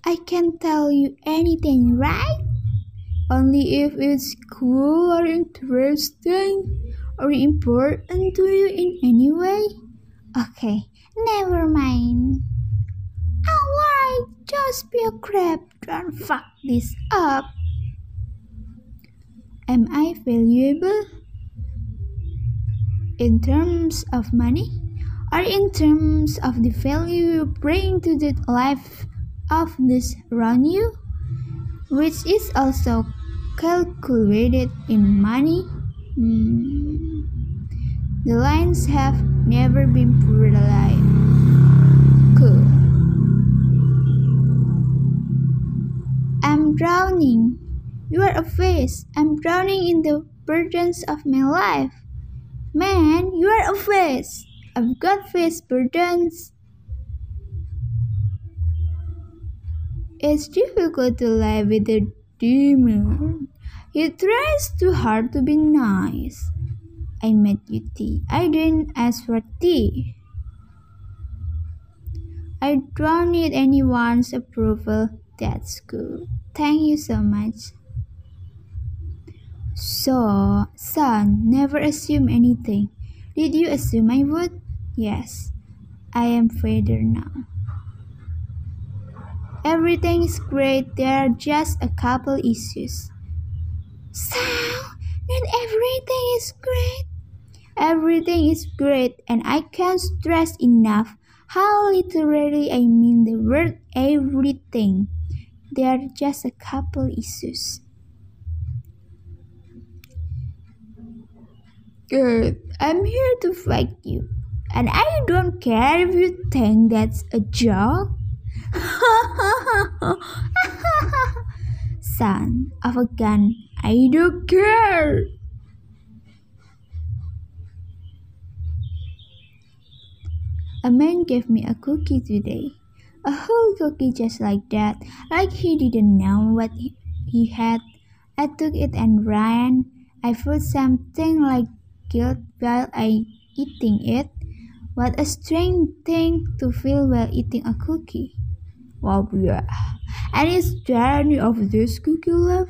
I can tell you anything, right? Only if it's cool or interesting or important to you in any way. Okay, never mind. Alright, just be a crab, don't fuck this up. Am I valuable? In terms of money? Or in terms of the value you bring to the life of those around you? Which is also calculated in money? The lines have never been blurred. Cool. I'm drowning. You are a fish. I'm drowning in the burdens of my life. Man, you are a fish. I've got fish burdens. It's difficult to live with a demon. He tries too hard to be nice. I made you tea. I didn't ask for tea. I don't need anyone's approval. That's cool. Thank you so much. So, son, never assume anything. Did you assume I would? Yes. I am father now. Everything is great. There are just a couple issues. So, not everything is great. Everything is great, and I can't stress enough how literally I mean the word everything. There are just a couple issues. Good. I'm here to fight you. And I don't care if you think that's a joke. Son of a gun, I don't care. A man gave me a cookie today. A whole cookie just like that, like he didn't know what he had. I took it and ran. I felt something like guilt while eating it. What a strange thing to feel while eating a cookie. Wow, yeah. And is there any of this cookie left?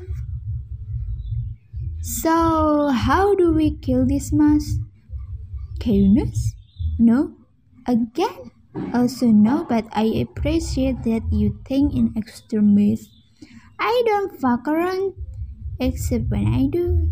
So, how do we kill this mouse? Chaos? No? Again? Also no, but I appreciate that you think in extremis. I don't fuck around, except when I do.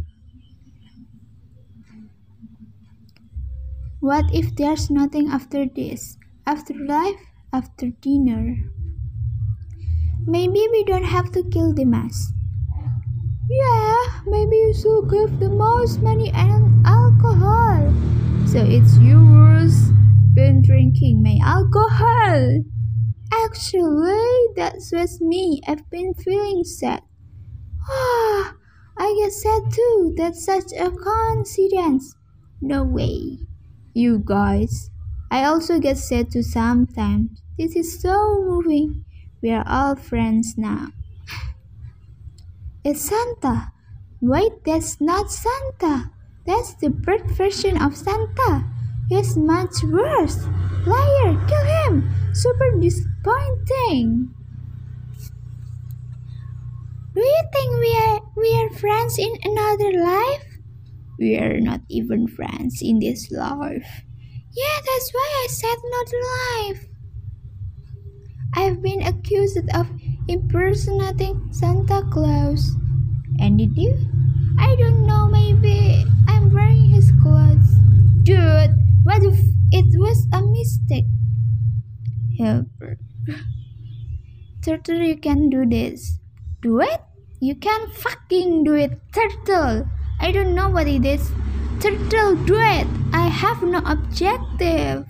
What if there's nothing after this? After life? After dinner? Maybe we don't have to kill the mouse. Yeah, maybe you should give the mouse money and alcohol. So it's yours. Been drinking my alcohol. Actually, that's with me. I've been feeling sad. I get sad too. That's such a coincidence. No way. You guys. I also get sad too sometimes. This is so moving. We are all friends now. It's Santa. Wait, that's not Santa. That's the bird version of Santa. He's much worse. Liar, kill him. Super disappointing. Do you think we are friends in another life? We are not even friends in this life. Yeah, that's why I said not life. I've been accused of impersonating Santa Claus. And did you? I don't know, maybe I'm wearing his clothes. Dude, what if it was a mistake? Helper. Turtle, you can do this. Do it? You can fucking do it, Turtle. I don't know what it is. Turtle, do it. I have no objective.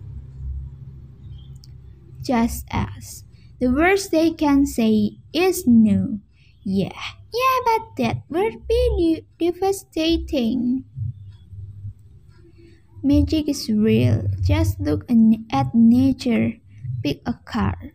Just ask. The worst they can say is no. Yeah, but that would be devastating. Magic is real. Just look at nature. Pick a card.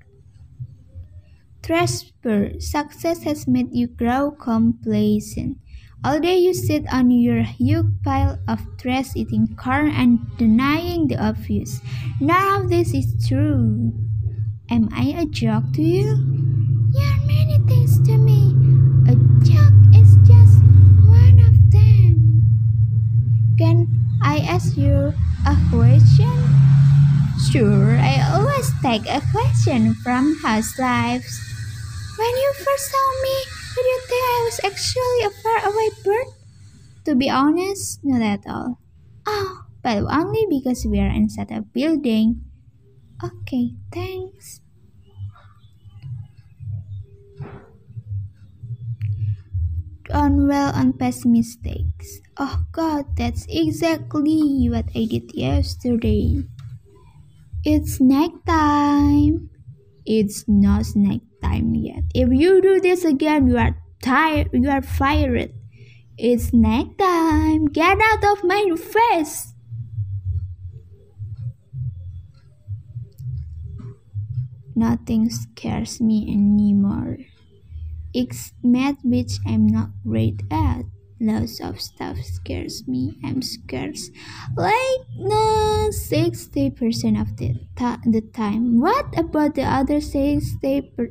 Trashbird. Success has made you grow complacent. All day you sit on your huge pile of trash eating corn and denying the obvious. None of this is true. Am I a joke to you? You are many things to me. A joke is just one of them. Can I ask you a question? Sure, I always take a question from house lives. When you first saw me, did you think I was actually a faraway bird? To be honest, not at all. Oh, but only because we are inside a building. Okay, thanks. On well on past mistakes. Oh god, that's exactly what I did yesterday. It's snack time. It's not snack time yet. If you do this again, you are tired. You are fired. It's snack time. Get out of my face. Nothing scares me anymore. It's math, which I'm not great at. Lots of stuff scares me. I'm scared like no 60% of the time. What about the other 60%?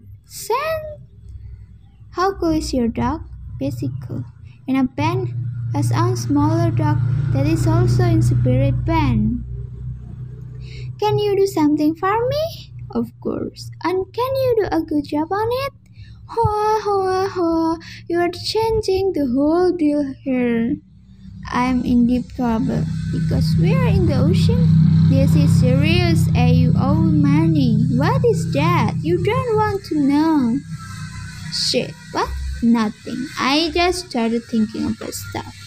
How cool is your dog? Basically, in a band, a sound smaller dog that is also in spirit band. Can you do something for me? Of course. And can you do a good job on it? Hoa, hoa, hoa, you are changing the whole deal here. I'm in deep trouble because we are in the ocean. This is serious. You owe money. What is that? You don't want to know. Shit, what? Nothing. I just started thinking about stuff.